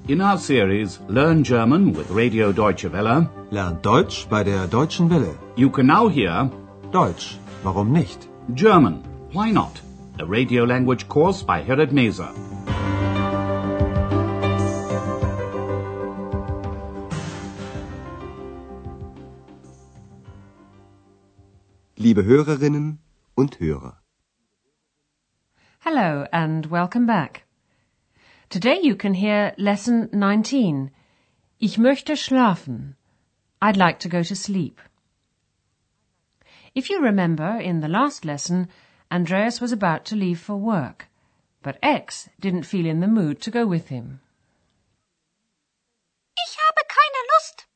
In our series Learn German with Radio Deutsche Welle, Lernt Deutsch bei der Deutschen Welle. you can now hear Deutsch, warum nicht? German, Why Not? A radio language course by Herrad Meese. Liebe Hörerinnen und Hörer. Hello and welcome back. Today you can hear lesson 19. Ich möchte schlafen. I'd like to go to sleep. If you remember, in the last lesson, Andreas was about to leave for work, but X didn't feel in the mood to go with him. Ich habe keine Lust.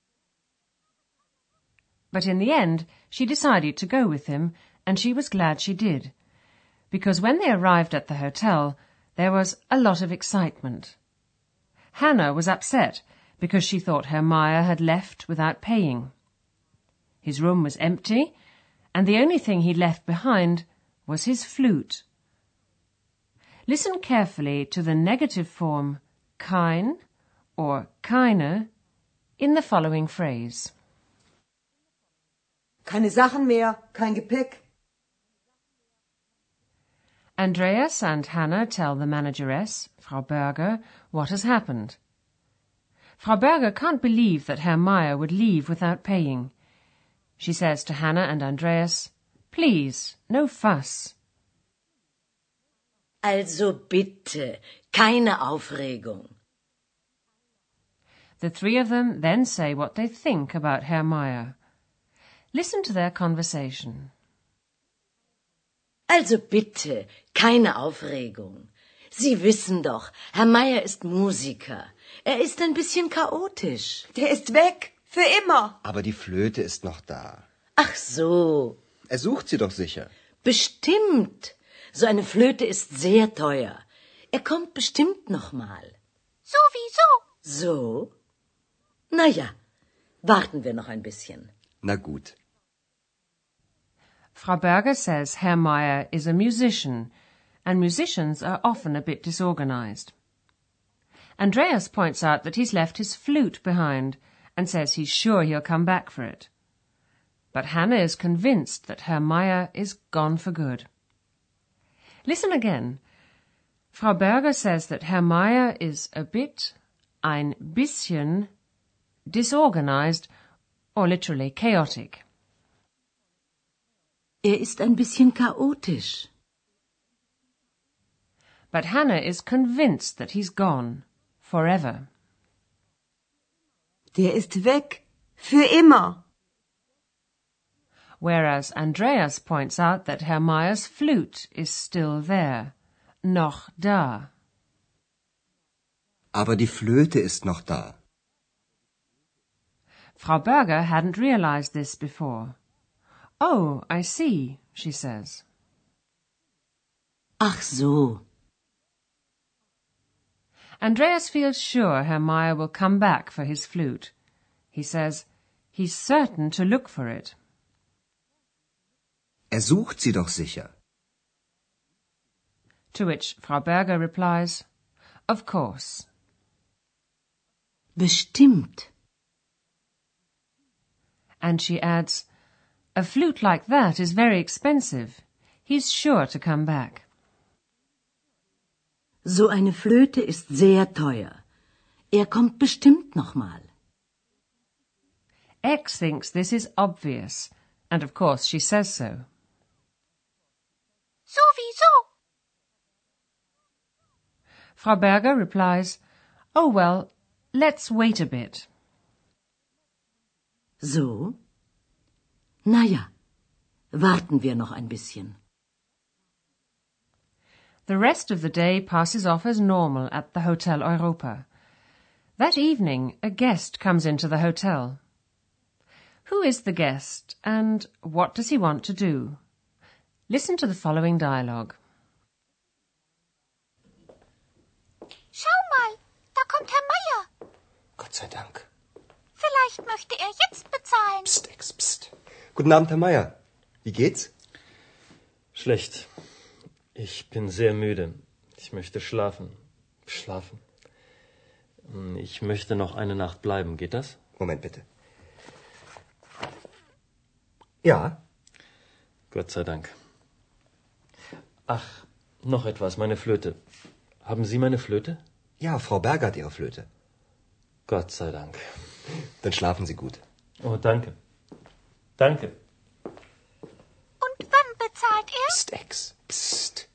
But in the end, she decided to go with him, and she was glad she did, because when they arrived at the hotel, there was a lot of excitement. Hannah was upset because she thought Herr Meyer had left without paying. His room was empty, and the only thing he'd left behind was his flute. Listen carefully to the negative form kein or keine in the following phrase. Keine Sachen mehr, kein Gepäck. Andreas and Hannah tell the manageress, Frau Berger, what has happened. Frau Berger can't believe that Herr Meyer would leave without paying. She says to Hannah and Andreas, "Please, no fuss." Also bitte, keine Aufregung. The three of them then say what they think about Herr Meyer. Listen to their conversation. Also bitte, keine Aufregung. Sie wissen doch, Herr Meyer ist Musiker. Er ist ein bisschen chaotisch. Der ist weg, für immer. Aber die Flöte ist noch da. Ach so, Er sucht sie doch sicher. bestimmt. So eine Flöte ist sehr teuer. Er kommt bestimmt noch mal. Sowieso. So? Na ja, warten wir noch ein bisschen. Na gut. Frau Berger says Herr Meyer is a musician, and musicians are often a bit disorganized. Andreas points out that he's left his flute behind and says he's sure he'll come back for it. But Hannah is convinced that Herr Meyer is gone for good. Listen again. Frau Berger says that Herr Meyer is a bit, ein bisschen, disorganized, or literally chaotic. Er ist ein bisschen chaotisch. But Hannah is convinced that he's gone, forever. Der ist weg, für immer. Whereas Andreas points out that Herr Meyer's flute is still there, noch da. Aber die Flöte ist noch da. Frau Berger hadn't realized this before. Oh, I see, she says. Ach so. Andreas feels sure Herr Meyer will come back for his flute. He says he's certain to look for it. Er sucht sie doch sicher. To which Frau Berger replies, "Of course." Bestimmt. And she adds, "A flute like that is very expensive. He's sure to come back." So eine Flöte ist sehr teuer. Er kommt bestimmt noch mal. X thinks this is obvious, and of course she says so. Sowieso. Frau Berger replies, "Oh well, let's wait a bit." So? Na ja, warten wir noch ein bisschen. The rest of the day passes off as normal at the Hotel Europa. That evening, a guest comes into the hotel. Who is the guest, and what does he want to do? Listen to the following dialogue. Schau mal, da kommt Herr Meyer. Gott sei Dank. Vielleicht möchte er jetzt bezahlen. Psst, Ex, psst. Guten Abend, Herr Meyer. Wie geht's? Schlecht. Ich bin sehr müde. Ich möchte schlafen. Schlafen. Ich möchte noch eine Nacht bleiben. Geht das? Moment bitte. Ja, Gott sei Dank. Ach, noch etwas, meine Flöte. Haben Sie meine Flöte? ja, Frau Berger hat Ihre Flöte. Gott sei Dank. Dann schlafen Sie gut. Oh, danke. Danke. Und wann bezahlt er? Psst, Ex. Psst.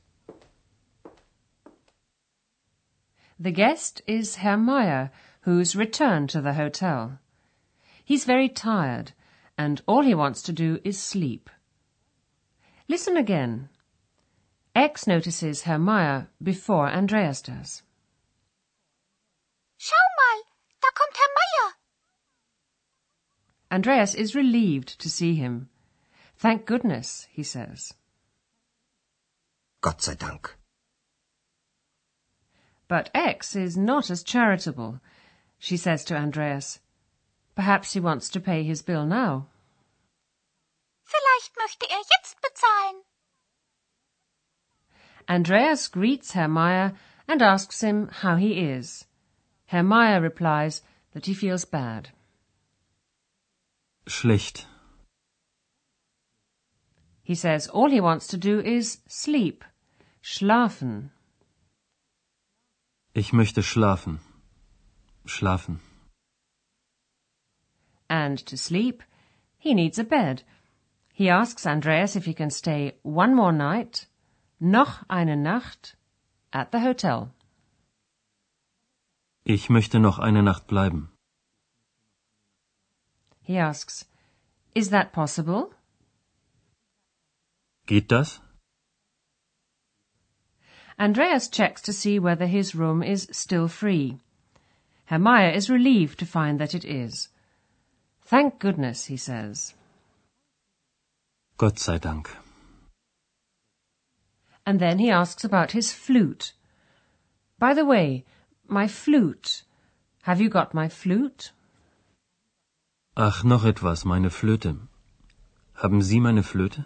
The guest is Herr Meyer, who's returned to the hotel. He's very tired, and all he wants to do is sleep. Listen again. X notices Herr Meyer before Andreas does. Schau mal, da kommt Herr Meier. Andreas is relieved to see him. Thank goodness, he says. Gott sei Dank. But X is not as charitable. She says to Andreas, perhaps he wants to pay his bill now. Vielleicht möchte er jetzt bezahlen. Andreas greets Herr Meyer and asks him how he is. Herr Meyer replies that he feels bad. Schlecht. He says all he wants to do is sleep, schlafen. Ich möchte schlafen. Schlafen. And to sleep, he needs a bed. He asks Andreas if he can stay one more night, noch eine Nacht, at the hotel. Ich möchte noch eine Nacht bleiben. He asks, is that possible? Geht das? Andreas checks to see whether his room is still free. Herr Meyer is relieved to find that it is. Thank goodness, he says. Gott sei Dank. And then he asks about his flute. By the way, my flute. Have you got my flute? Ach, noch etwas, meine Flöte. Haben Sie meine Flöte?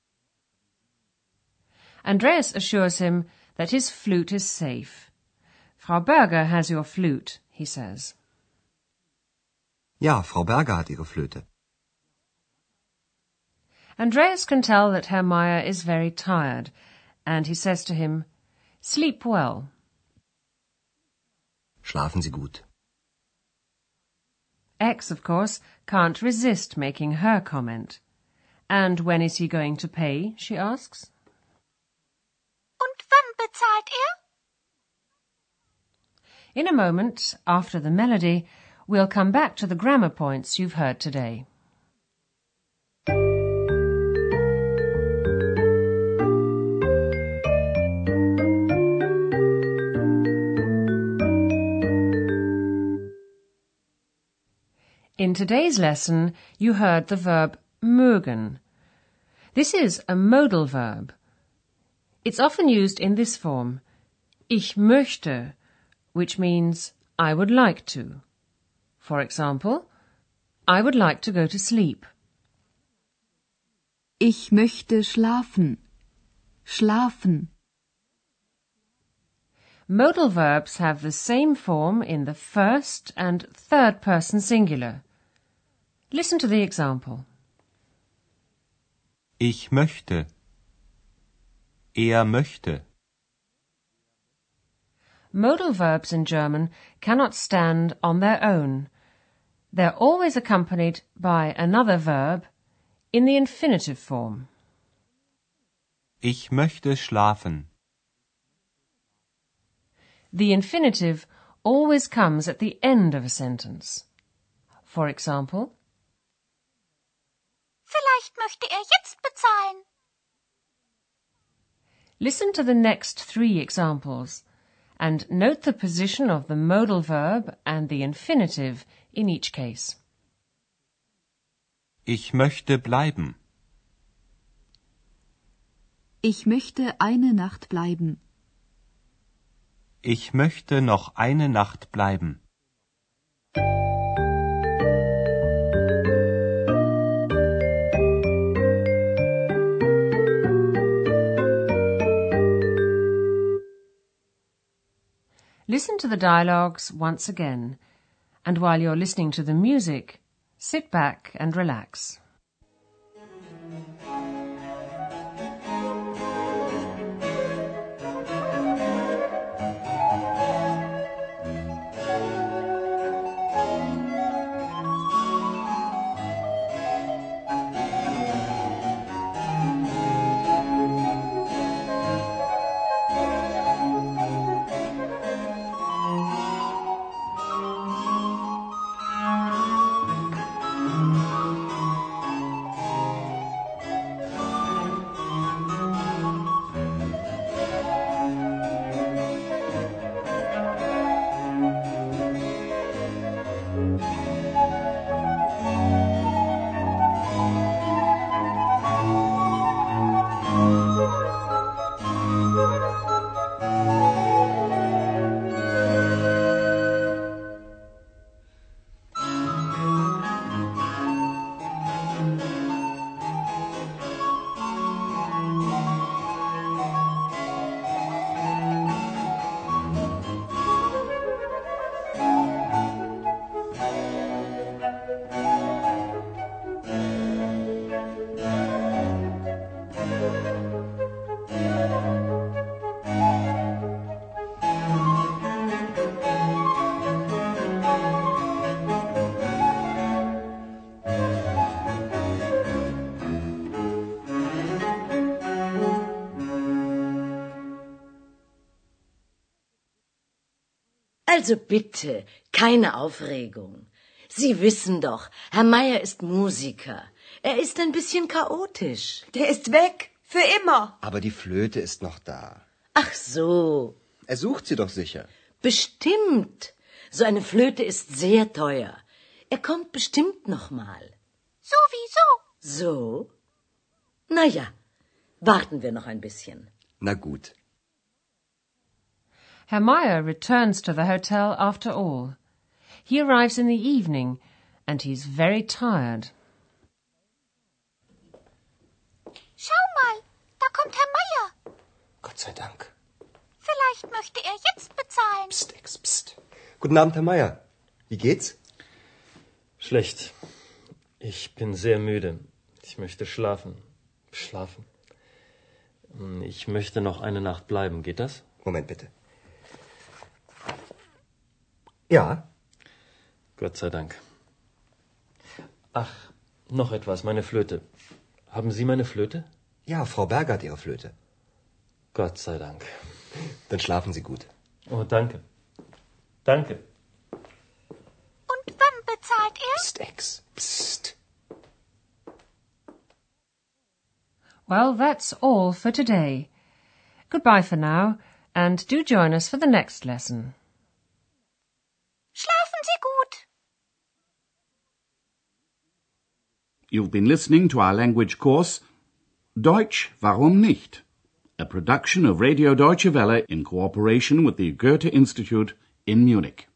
Andreas assures him that his flute is safe. Frau Berger has your flute, he says. Ja, Frau Berger hat ihre Flöte. Andreas can tell that Herr Meyer is very tired, and he says to him, sleep well. Schlafen Sie gut. X, of course, can't resist making her comment. And when is he going to pay, she asks. Und wann bezahlt er? In a moment, after the melody, we'll come back to the grammar points you've heard today. In today's lesson, you heard the verb mögen. This is a modal verb. It's often used in this form, ich möchte, which means I would like to. For example, I would like to go to sleep. Ich möchte schlafen. Schlafen. Modal verbs have the same form in the first and third person singular. Listen to the example. Ich möchte. Er möchte. Modal verbs in German cannot stand on their own. They're always accompanied by another verb in the infinitive form. Ich möchte schlafen. The infinitive always comes at the end of a sentence. For example, Vielleicht möchte er jetzt bezahlen. listen to the next 3 examples and note the position of the modal verb and the infinitive in each case. Ich möchte bleiben. Ich möchte eine Nacht bleiben. Ich möchte noch eine Nacht bleiben. Listen to the dialogues once again, and while you're listening to the music, sit back and relax. Also bitte, keine Aufregung. Sie wissen doch, Herr Meier ist Musiker. Er ist ein bisschen chaotisch. Der ist weg. Für immer. Aber die Flöte ist noch da. Ach so. Er sucht sie doch sicher. Bestimmt. So eine Flöte ist sehr teuer. Er kommt bestimmt noch mal. Sowieso. So? Na ja, warten wir noch ein bisschen. Na gut. Herr Meier returns to the hotel after all. He arrives in the evening, and he's very tired. Schau mal, da kommt Herr Meier. Gott sei Dank. Vielleicht möchte er jetzt bezahlen. Psst, Ex, psst. Guten Abend, Herr Meier. Wie geht's? Schlecht. Ich bin sehr müde. Ich möchte schlafen. Schlafen. Ich möchte noch eine Nacht bleiben. Geht das? Moment bitte. Ja. Gott sei Dank. Ach, noch etwas, meine Flöte. Haben Sie meine Flöte? Ja, Frau Berger hat Ihre Flöte. Gott sei Dank. Dann schlafen Sie gut. Oh, danke. Danke. Und wann bezahlt er? Psst, Ex. Psst. Well, that's all for today. Goodbye for now, and do join us for the next lesson. Schlafen Sie gut. You've been listening to our language course, Deutsch, warum nicht? A production of Radio Deutsche Welle in cooperation with the Goethe Institute in Munich.